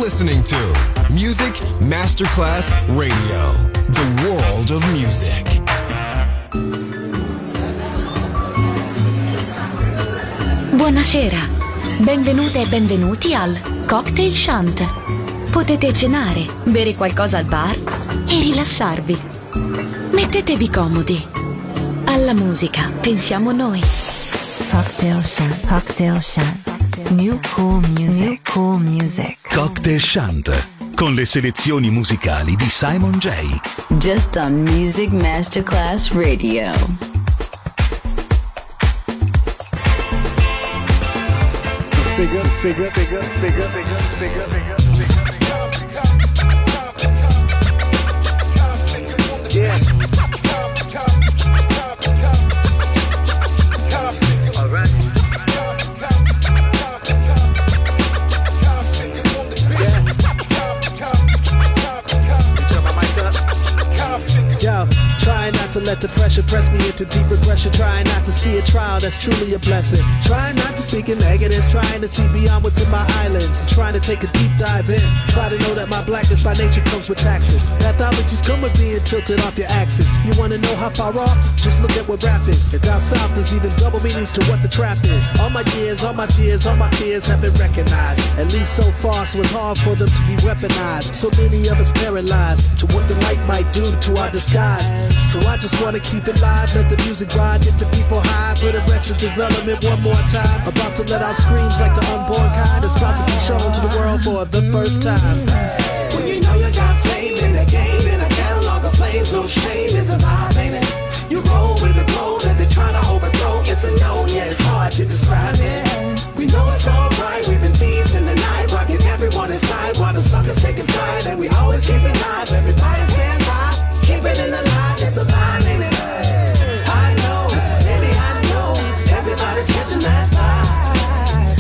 listening to Music Masterclass Radio, the world of music. Buonasera, benvenute e benvenuti al Cocktail Shant. Potete cenare, bere qualcosa al bar e rilassarvi. Mettetevi comodi. Alla musica pensiamo noi. Cocktail Shant, Cocktail Shant. New cool music, new cool music. Cocktail Shant, con le selezioni musicali di Simon J. Just on Music Masterclass Radio. Figure. Yeah. All right. Yo, trying not to let the pressure press me into deep regression. Trying not to see a trial that's truly a blessing. Trying not to speak in negatives. Trying to see beyond what's in my islands. And trying to take a deep dive in. Try to know that my blackness by nature comes with taxes. Pathologies come with being tilted off your axis. You wanna know how far off? Just look at what rap is. And down south there's even double meanings to what the trap is. All my years, all my tears, all my fears have been recognized. At least so far, so it's hard for them to be weaponized. So many of us paralyzed to what the light might do to our disguise. So I just wanna keep it live, let the music ride, get the people high for the rest of development one more time. About to let out screams like the unborn kind. It's about to be shown to the world for the first time. When you know you got fame in a game, in a catalog of flames, no shame, it's a vibe, ain't it? You roll with the glow that they're trying to overthrow. It's a known, yeah, it's hard to describe it. We know it's alright, we've been thieves in the night, rocking everyone inside while the suckers taking flight. And we always keep it live, everybody says hi, keep it in the light, it's a vibe, ain't it? I know, baby, I know, everybody's catching that vibe.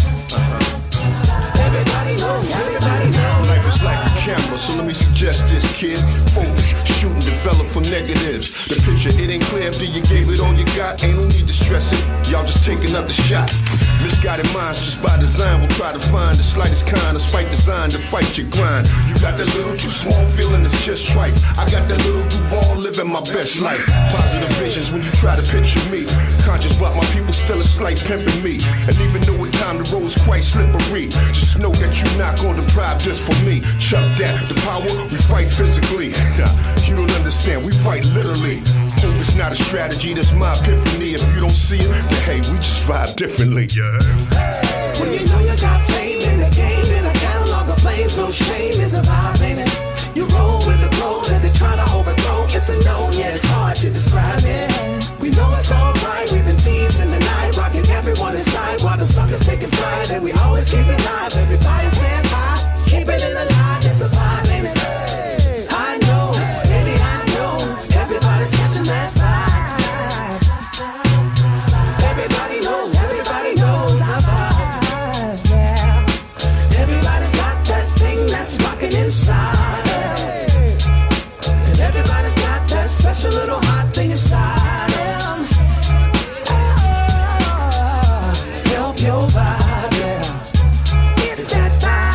Everybody knows, everybody knows. Life is like a camera, so let me suggest this, kid. Focus, shoot and develop from negatives. The picture, it ain't clear after you gave it all you got. Ain't no need to stress it, y'all just take another shot. Misguided minds just by design will try to find the slightest kind of spike design to fight your grind. You got that little too small feeling, it's just tripe. I got that little Duval living my best life. Positive visions when you try to picture me. Conscious about my people still a slight pimping me. And even though at time the road's quite slippery, just know that you're not gonna deprive this for me. Chuck that, the power, we fight physically. You don't understand, we fight literally. Hope it's not a strategy, that's my epiphany. If you don't see it, then hey, we just vibe differently. When you know you got fame in the game, in a catalog of flames, no shame, it's a vibe, ain't it? You roll with the glow that they're trying to overthrow. It's a known, yeah, it's hard to describe it. We know it's alright, we've been thieves in the night, rocking everyone inside while the suckers taking flight. And we always keep it live, everybody says hi, keep it in the light, it's a vibe, ain't it? I know, baby, I know, everybody's catching that vibe. Everybody knows our vibe, yeah. Everybody's got that thing that's rocking inside. And everybody's got that special little hot thing inside them. Help your vibe, yeah. It's that vibe.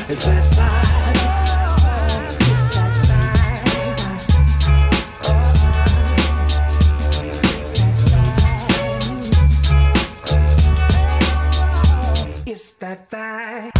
It's that vibe. It's that vibe. It's that vibe. It's that vibe.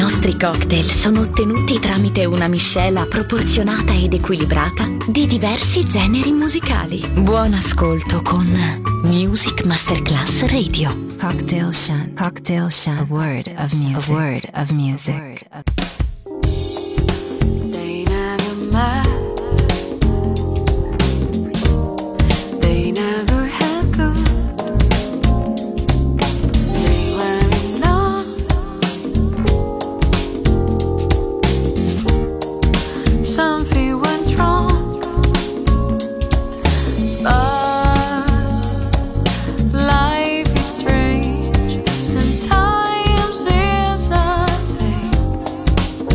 nostri cocktail sono ottenuti tramite una miscela proporzionata ed equilibrata di diversi generi musicali. Buon ascolto con Music Masterclass Radio. Cocktail Shant. Cocktail Shant. A word of music. A word of music. They never met. They never had good. They were enough. Something went wrong. Life is strange. Sometimes it's a thing.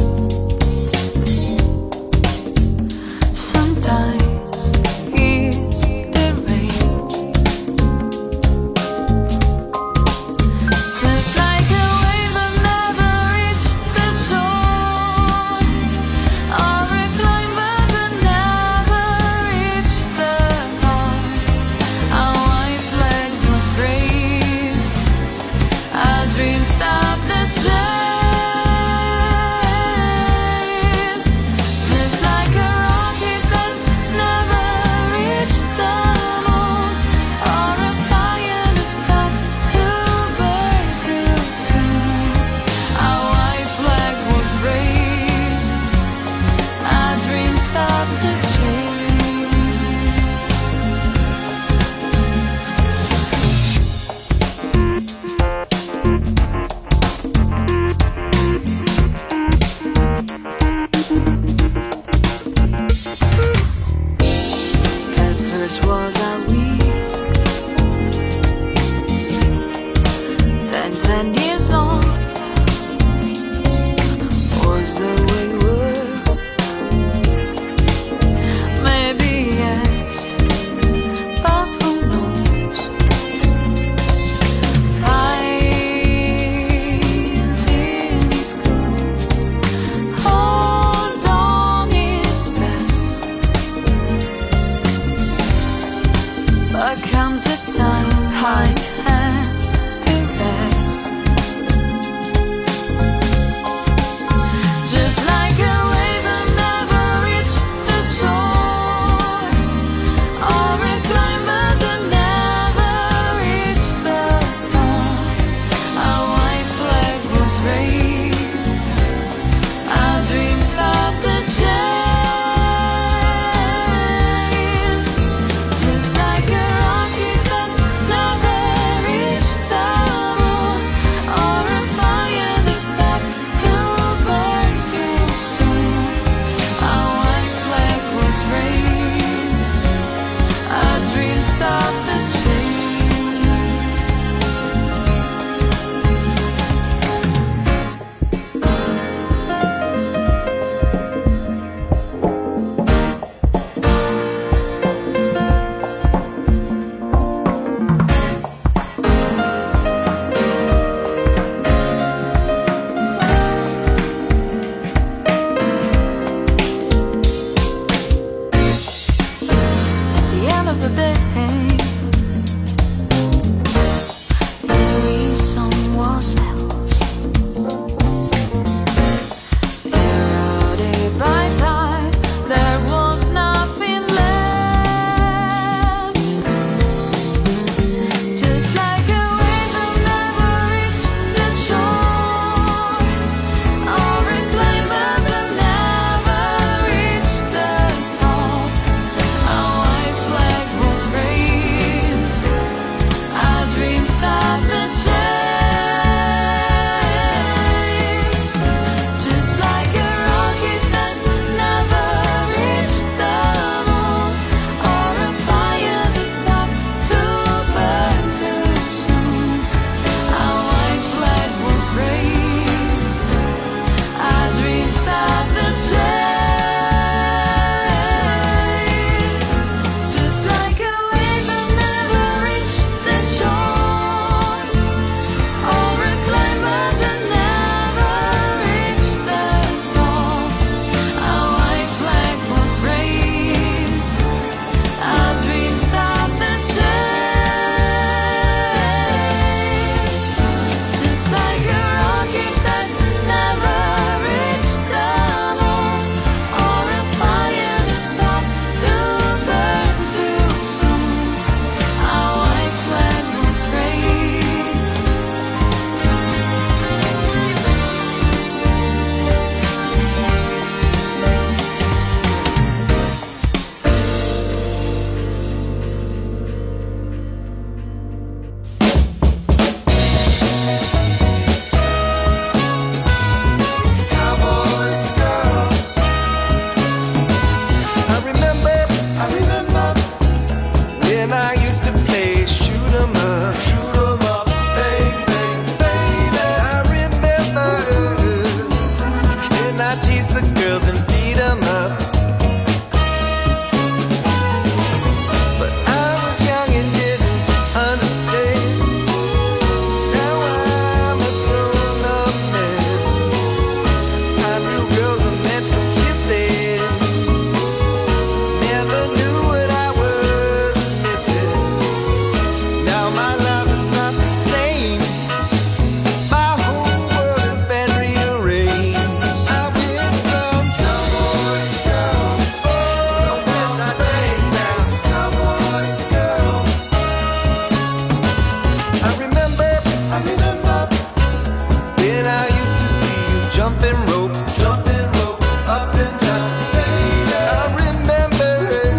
jumping rope up and down, baby. I remember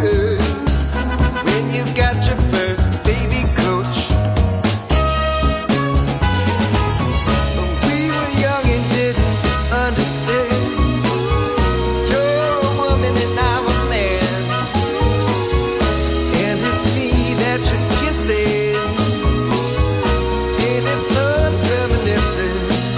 when you got your first baby coach. We were young and didn't understand. You're a woman and I'm a man, and it's me that you're kissing. Ain't it fun reminiscing?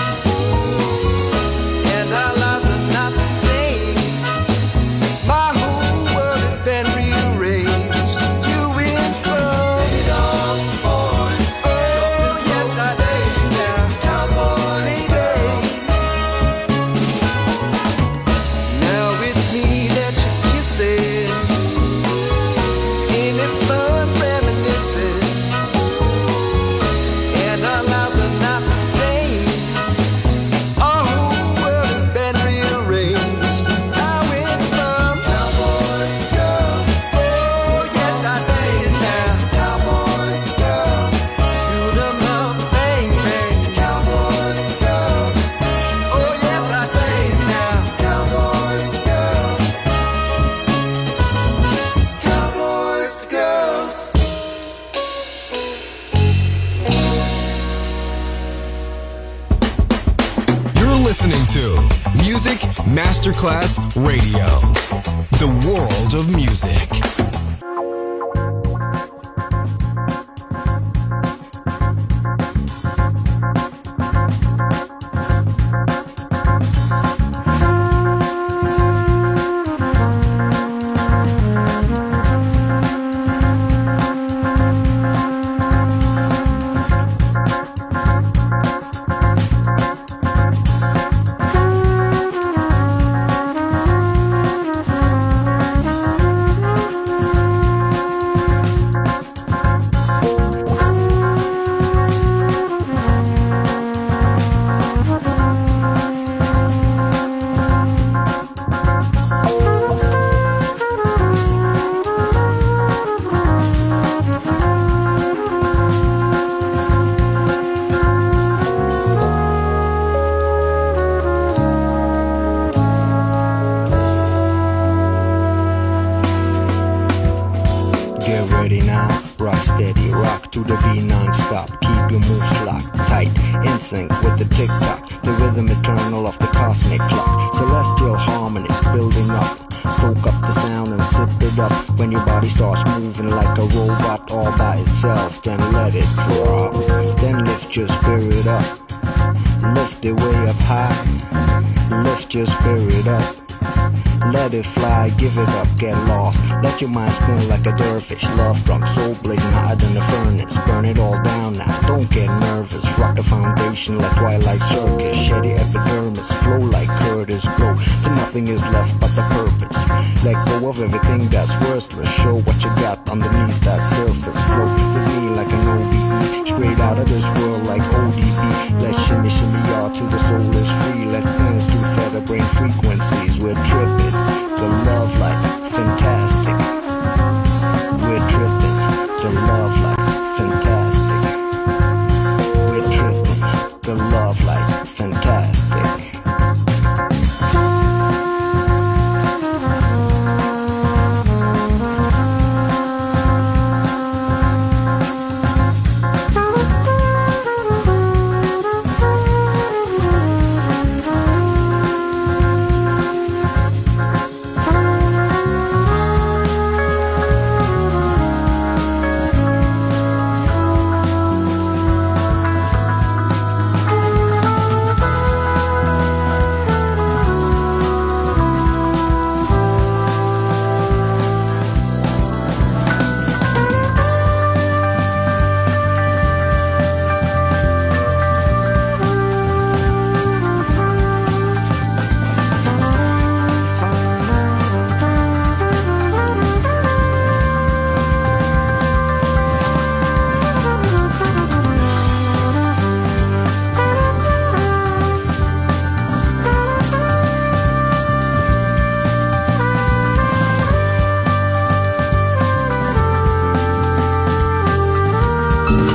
And our lives are not the same. My whole world has been rearranged. You went from dogs to boys. Oh yes I did. Now cowboys, baby. Now it's me that you're kissing. Ain't it fun reminiscing? And our lives are not the same. Our whole world has been rearranged. I went from cowboys to girls. Oh yes I did. Now cowboys to girls. Shoot 'em up, bang bang. Cowboys to girls. Oh yes I did. Now cowboys to girls. Cowboys to girls. You're listening to Music Masterclass Radio, the world of music. Get ready now, rock steady, rock to the beat non-stop. Keep your moves locked, tight, in sync with the tick-tock. The rhythm eternal of the cosmic clock. Celestial harmonies building up. Soak up the sound and sip it up. When your body starts moving like a robot all by itself, then let it drop. Then lift your spirit up. Lift it way up high. Lift your spirit up. Let it fly, give it up, get lost. Let your mind spin like a dervish. Love drunk, soul blazing hotter than the furnace. Burn it all down now, don't get nervous. Rock the foundation like Twilight Circus. Shady epidermis, flow like Curtis Blow. Till nothing is left but the purpose. Let go of everything that's worthless. Show what you got underneath that surface. Flow with me like an ODE. Straight out of this world like ODB. Let's shimmy shimmy y'all till the soul is free. Let's dance to feather brain frequencies. We're tripping. The love light, fantastic. We're tripping. The love light, fantastic. We're tripping. The love light, fantastic.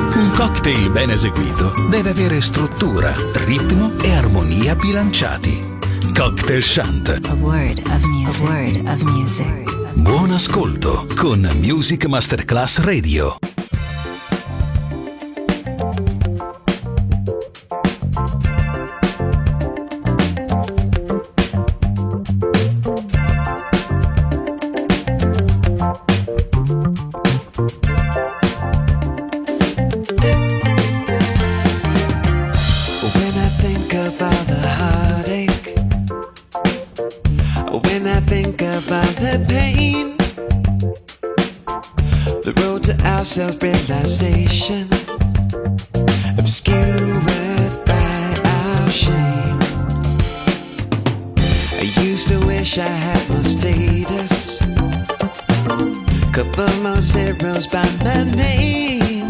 cocktail ben eseguito deve avere struttura, ritmo e armonia bilanciati. Cocktail Shant. A word of music. A word of music. Buon ascolto con Music Masterclass Radio. Self-realization obscured by our shame. I used to wish I had more status, couple more zeros by my name.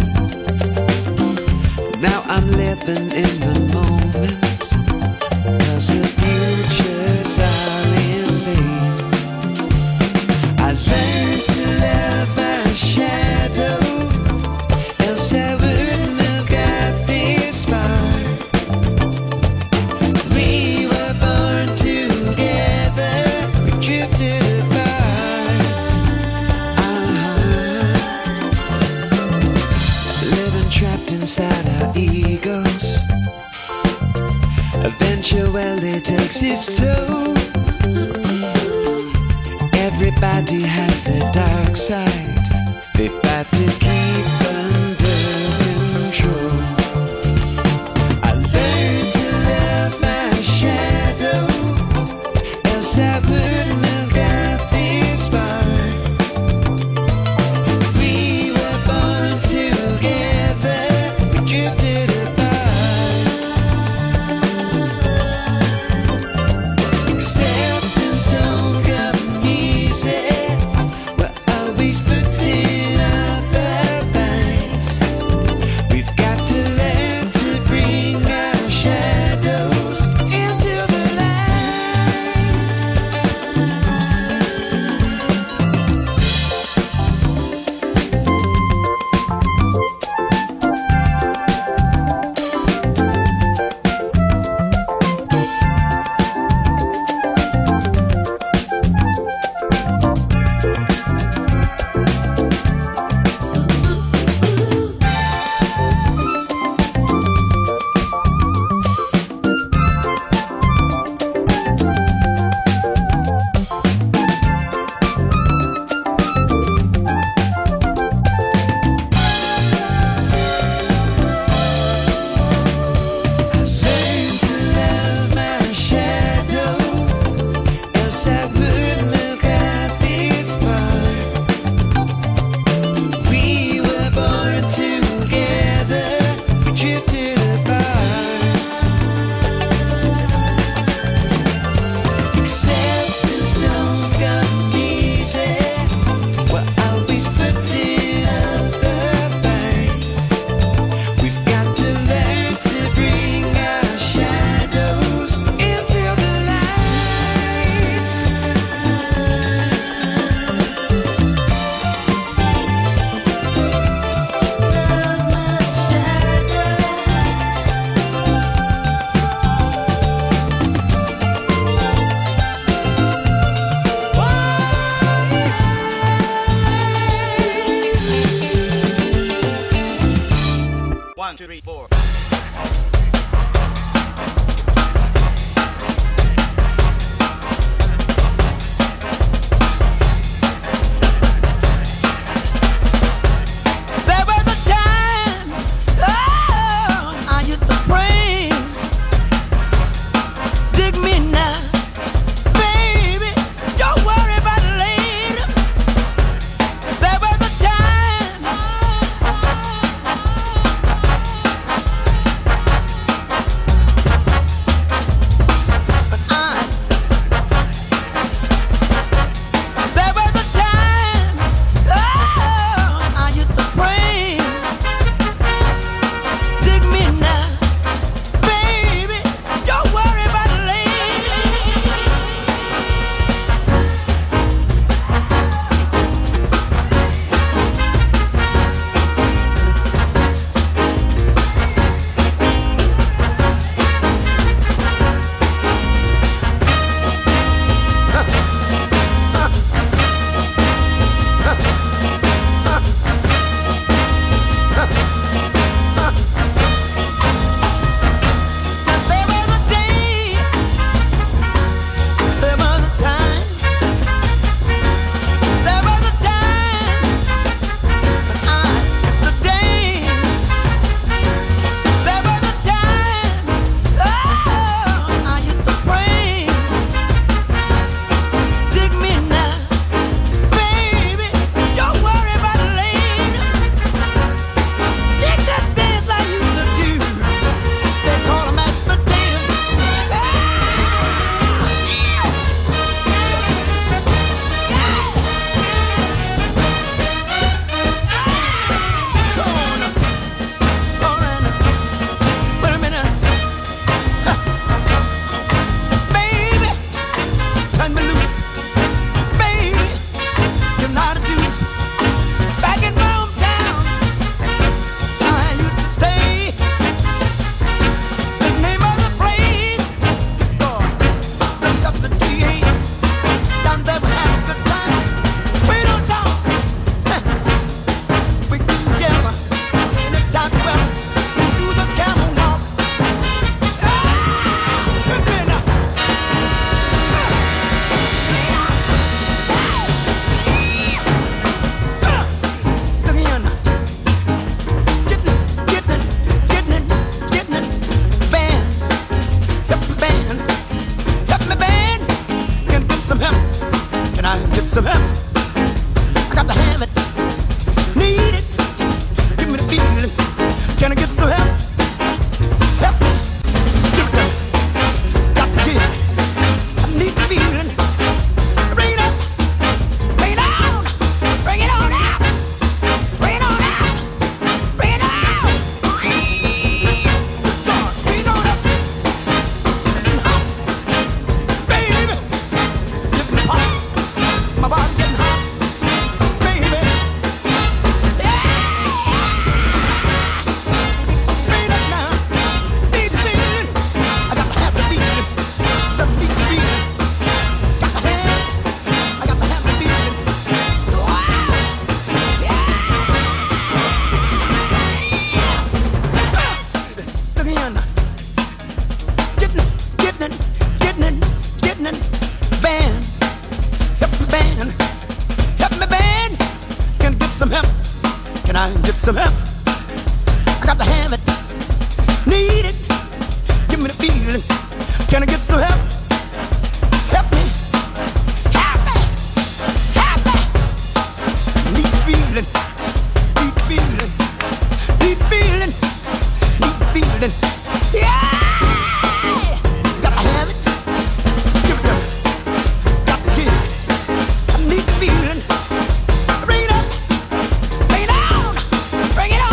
Now I'm living in the moment, 'cause the future's all in vain. I learned to love my shadow, I wouldn't have got this far. We were born together, we drifted apart. Living trapped inside our egos eventually takes its toll. Everybody has their dark side, they fight to keep under control. I learned to love my shadow, else I wouldn't have got this far. We were born together, we drifted apart. Acceptance don't come easy, we're always putting our best. some help. I got to have it. Need it. Give me the feeling. Can I get some help? Help me. Help me. Help me. Need feeling. Need feeling. Need feeling. Need feeling. Yeah. Got to have it. Give it up. Got to get it. I need feeling. Bring it up. Bring it on. Bring it on.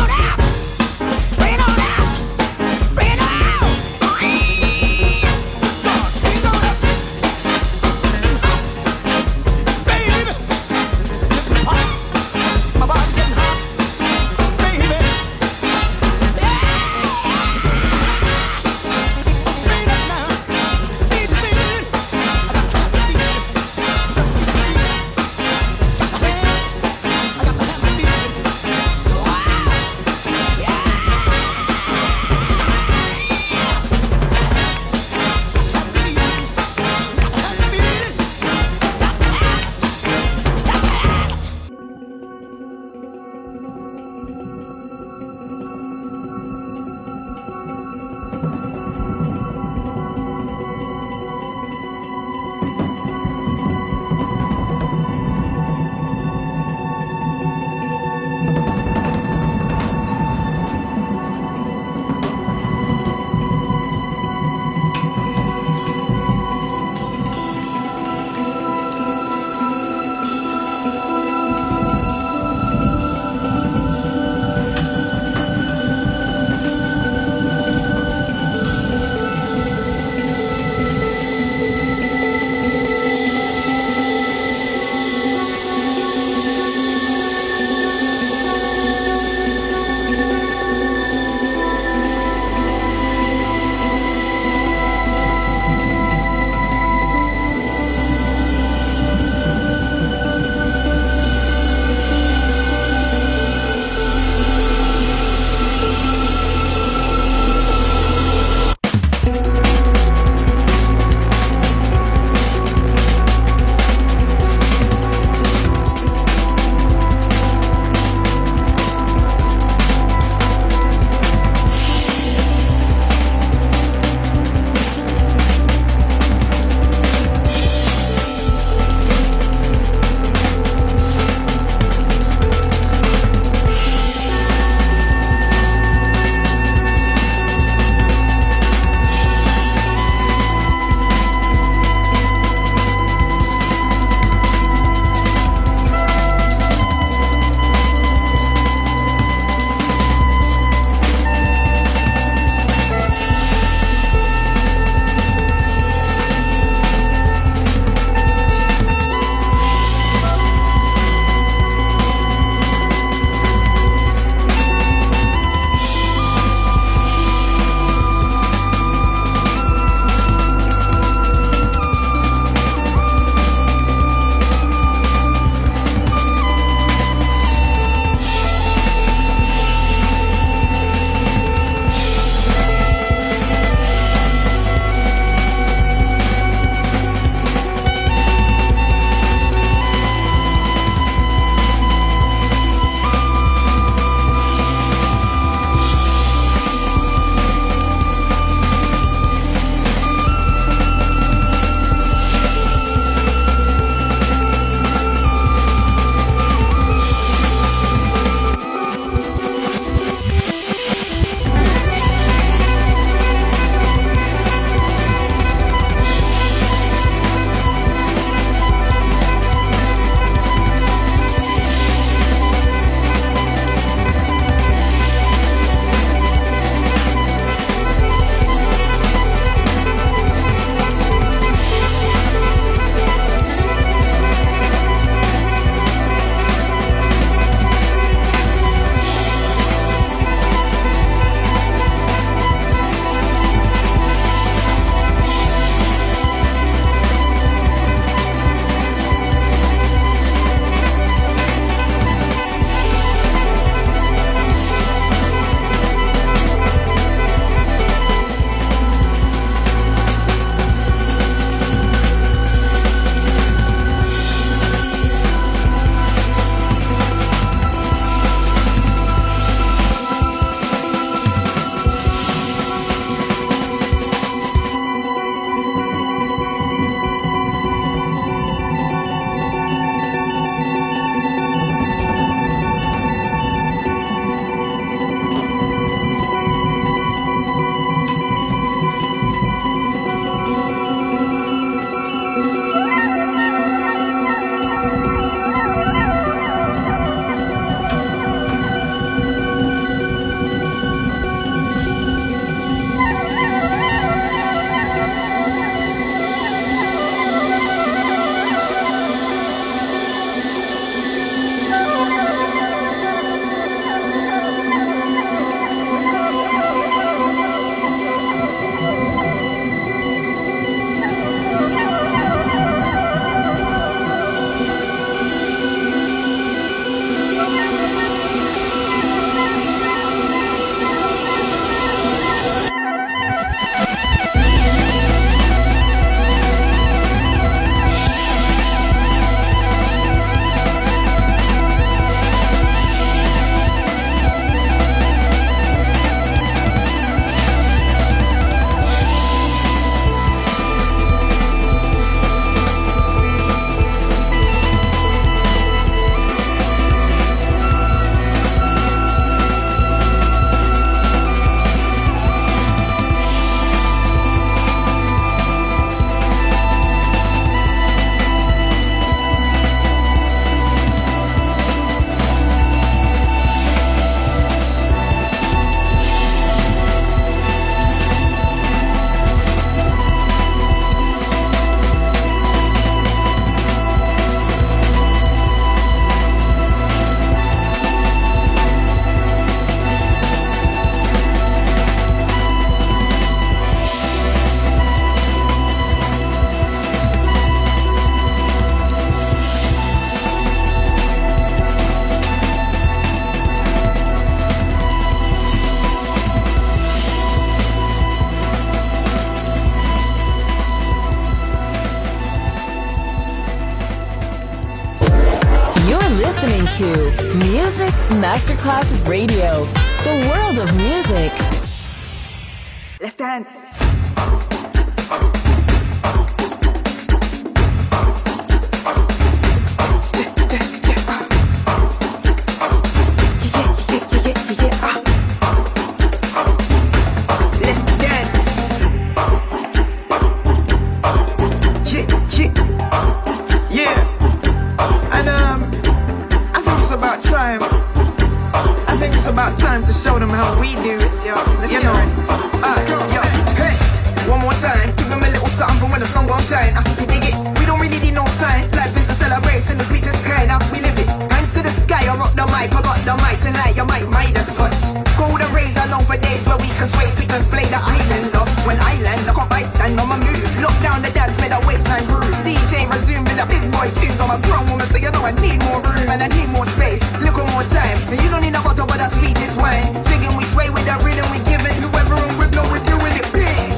to Music Masterclass Radio, the world of music. Let's dance. About time to show them how we do it, yo. You know, yo, hey, one more time, give them a little something for when the sun gon' shine. You dig it? We don't really need no sign. Life is a celebration, the sweetest kind. We live it. Hands to the sky, I rock the mic, I got the mic tonight. You might Midas touch. Golden rays are known for days where we can sway, we can play the island off. When I land, look up, I stand on my move. Lock down the dance, make the waistline groove. DJ resume with the big boy tunes. I'm a grown woman, so you know I need more room and I need more space. Little more time, and you don't need a bottle, but the sweetest wine. Singing, we sway with the rhythm, we give it. Whoever and with, no, we're doing it big.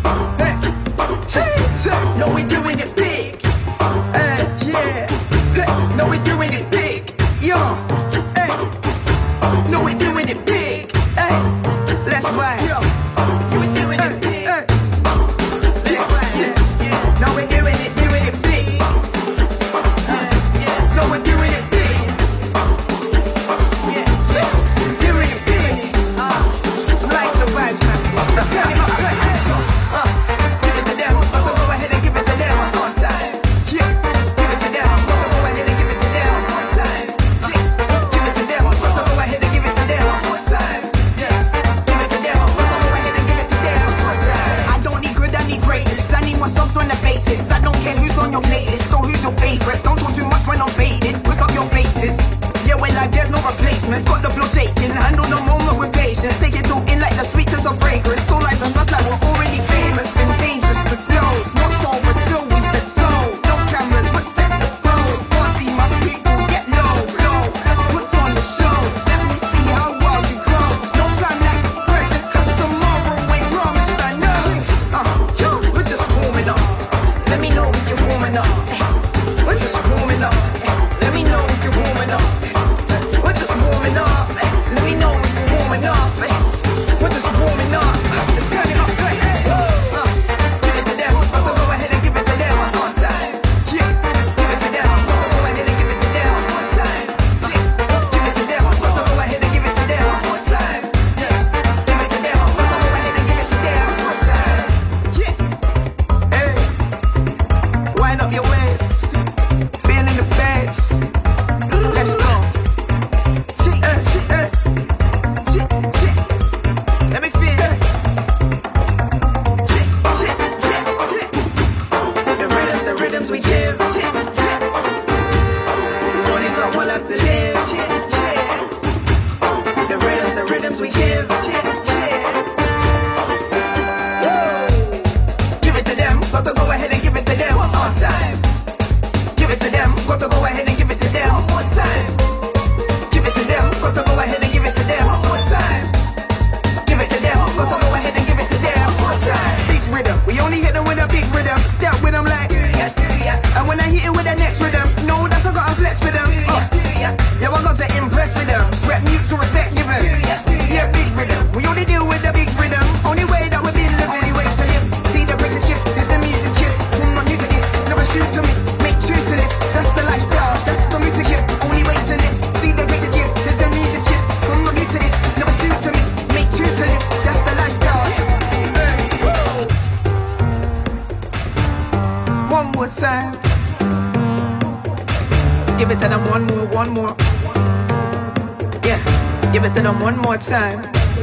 Hey, no, we're doing it big. Yeah, hey, no, we're doing it big. Yo, hey, no, we're doing it big. Hey, let's ride. Yo, you were doing it big. Hey. Let's ride. Yeah. No, we're doing it big. No, we're doing it big. Got the flow shaking, handle the moment with patience. Take it all in like the sweetest of fragrance. So like us like we're already famous and dangerous with flows. Not over till we said so. No cameras, but set the flows. Party, my people, get low, low. What's on the show? Let me see how wild you grow. No time like the present, cause tomorrow ain't promised, I know. We're just warming up. Let me know if you're warming up. We're just warming up. Let me know if you're warming up. We're just warming up. Let me know if you're warming up. We're just warming up. Let's turn it up. Give it to them. So go ahead and give it to them one time. Yeah. Give it to them. So go ahead and give it to them one time. Yeah. Give it to them. So go ahead and give it to them one time. Yeah. Give it to them. So go ahead and give it to them one time. Yeah. Hey. Wind up your waist. Feeling the bass. Let's go. Let me feel the rhythms we give. Only got one left to live. The rhythms we give. Give it to them, got to go ahead and give it to them one more time. Give it to them, got to go ahead and give it to them one more time. Give it to them, got to go ahead and give it to them one more time. Give it to them, got to go ahead and give it to them one more time. Big rhythm, we only hit them with a big rhythm. Step with them like, and when I hit it with the next rhythm, no, that's I gotta flex with them. Yeah, I got to impress with them. Rep mute to respect given. Yeah, big rhythm, we only deal with the big rhythm. Only way that we've been living, only way to live. See the greatest gift is the music's kiss. I'm not new to this, never shoot to miss. Make choose to live, that's the lifestyle, that's the music gift. Only way to live. See the greatest gift is the music's kiss. I'm not new to this, never shoot to miss. Make choose to live, that's the lifestyle. One more time. Give it to them one more. Yeah, give it to them one more time.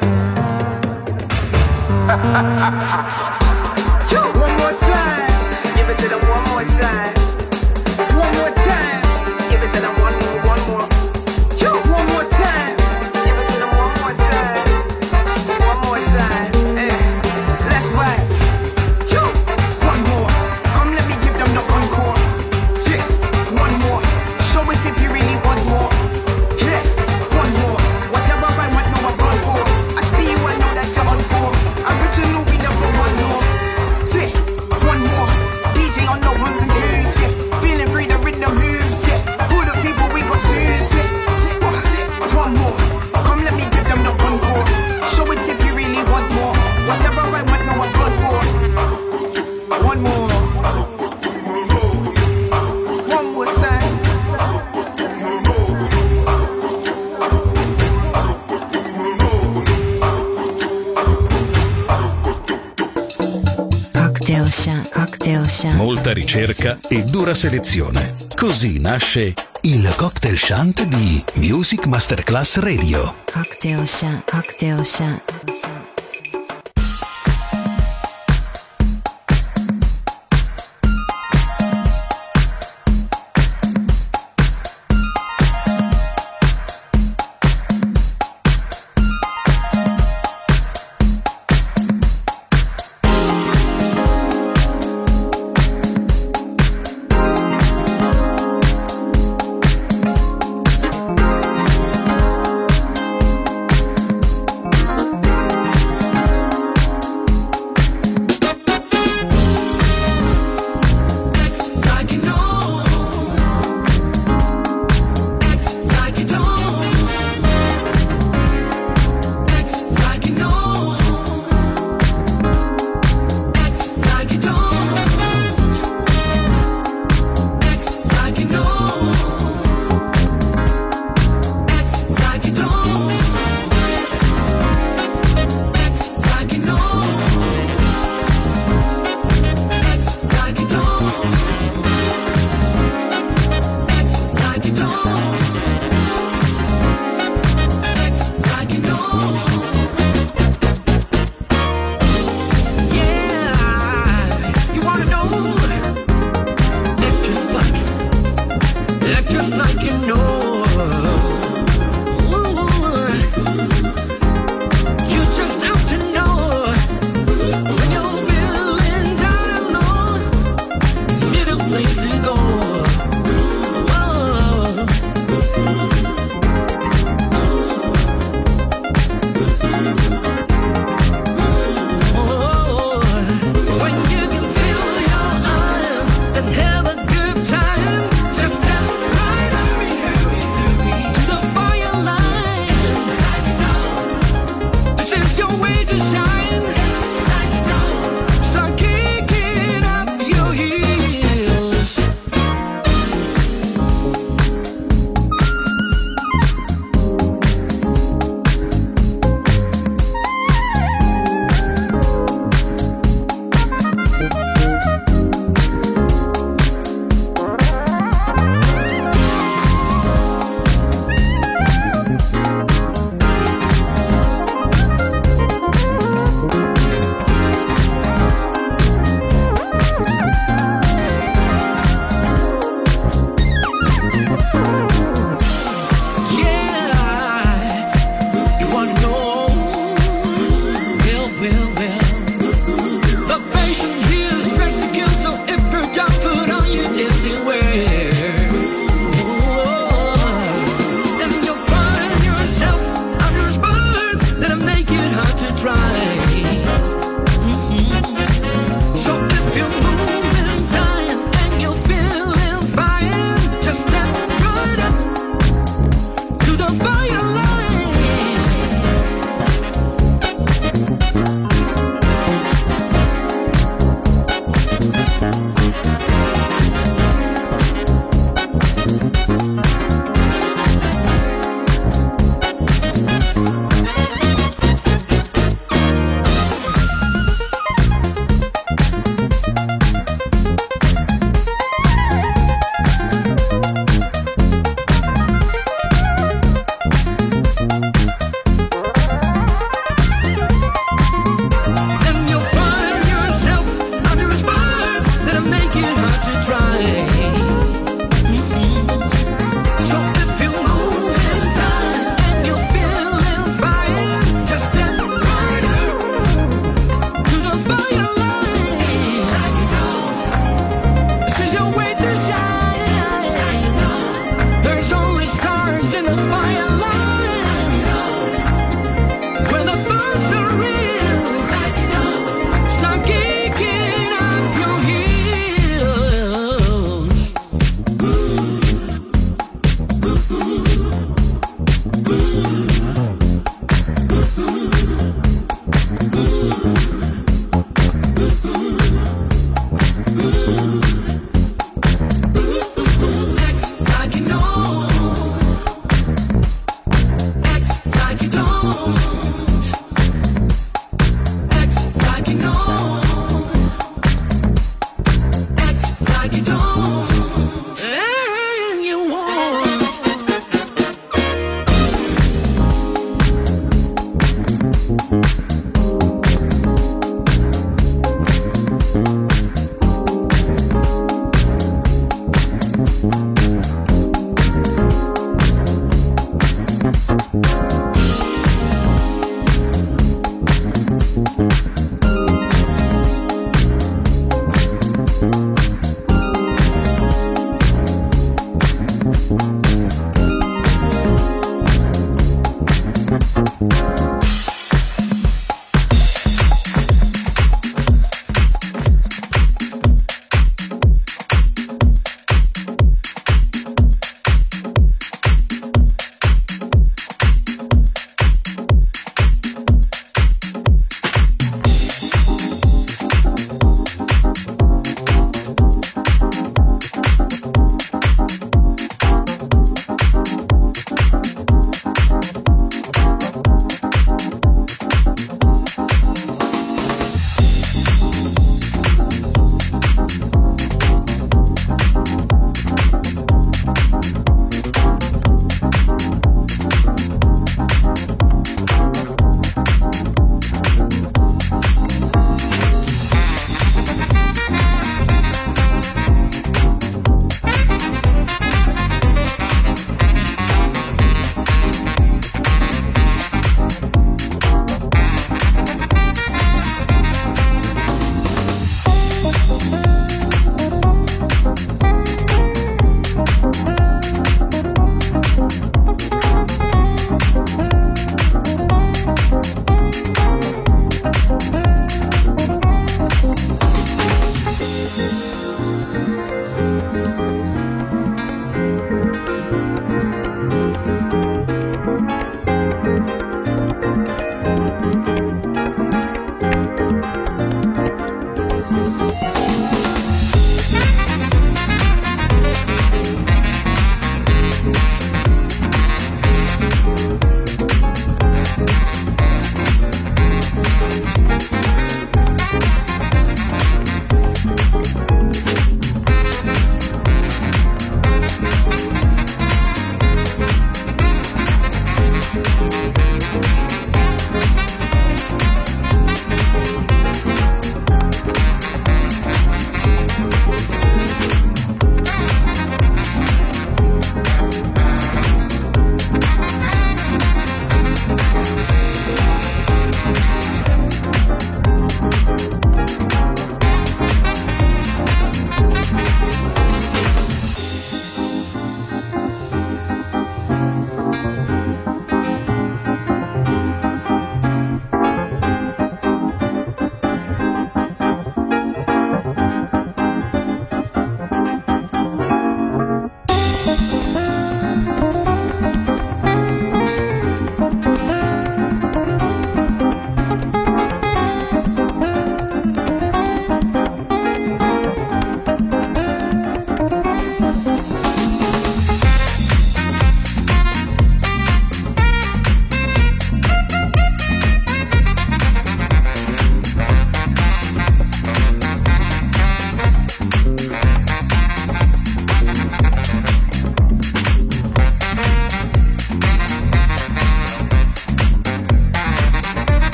One more time. Give it to them one more time. One more time. Give it to them one more. One more time. Give it to them one more time. One more time. Let's ride. One more. Come let me give them the encore. Yeah. One more. Show us if you really want more. Yeah. One more. Whatever I want, no, I'm gone for. I see you, I know that you're on for. Original, we never want more. more. One more time. Cocktail shant. Molta ricerca e dura selezione. Così nasce il Cocktail Shant di Music Masterclass Radio. Cocktail shant.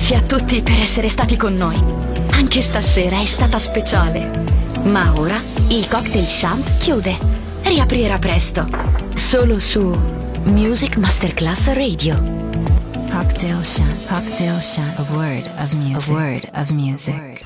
Grazie a tutti per essere stati con noi. Anche stasera è stata speciale. Ma ora il Cocktail Shant chiude. Riaprirà presto. Solo su Music Masterclass Radio. Cocktail Shant, a word of music.